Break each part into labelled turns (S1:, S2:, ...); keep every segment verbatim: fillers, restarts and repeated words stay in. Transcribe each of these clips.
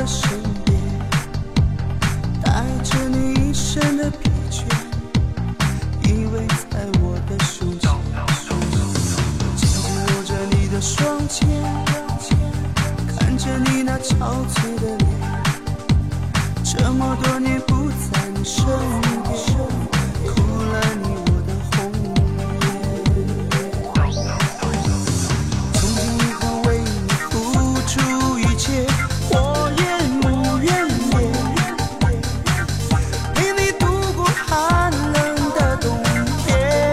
S1: 身边，带着你一身的疲倦，依偎在我的手心，紧紧握着你的双肩，看着你那憔悴的脸，这么多年不在你身边，哭了你我的红颜。从今以后为你付出一切，我也无怨言，陪你度过寒冷的冬天，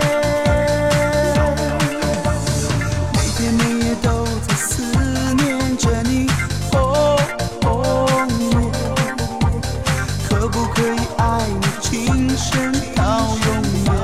S1: 每天每夜都在思念着你。哦哦可不可以爱你今生到永远？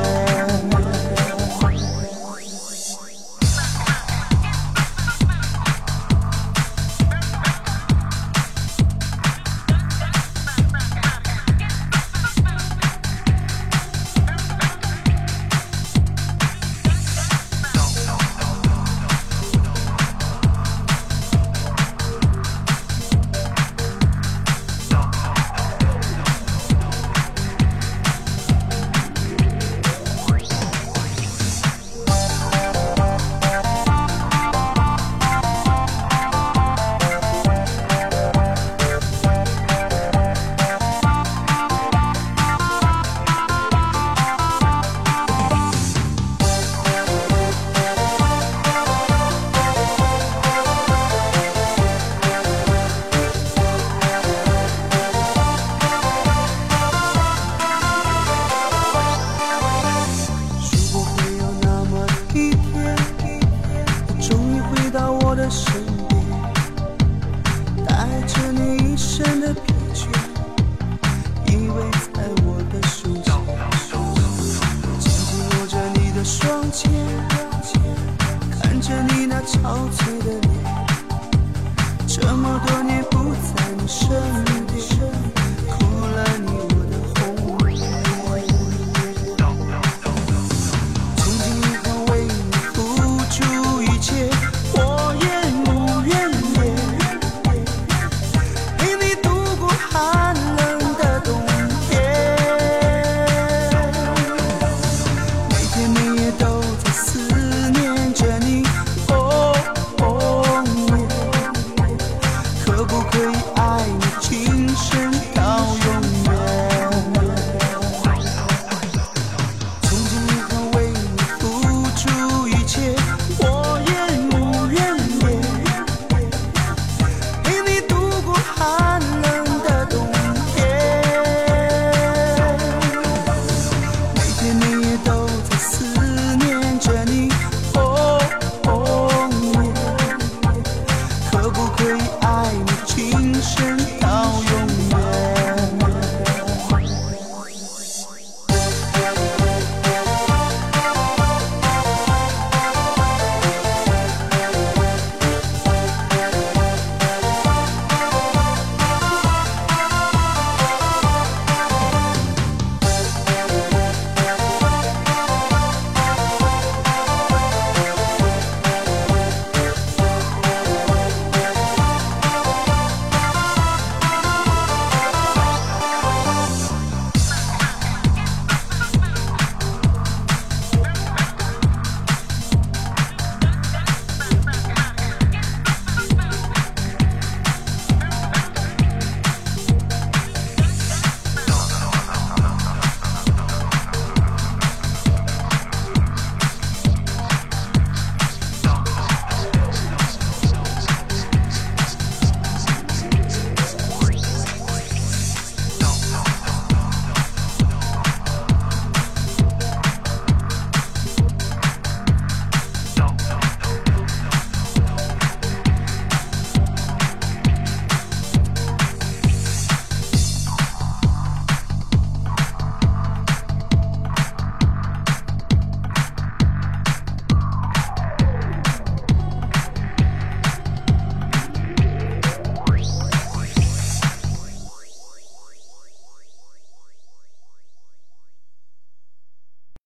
S1: 我的身边，带着你一身的疲倦，依偎在我的手心，紧紧握着你的双肩，看着你那憔悴的脸，这么多年不在你身边，哭了你我的红颜。从今以后为你付出一切，可不可以爱你今生到永远？从今以后为你付出一切，我也无怨言，陪你度过寒冷的冬天，每天每夜都在思念着你。哦哦可不可以爱你今生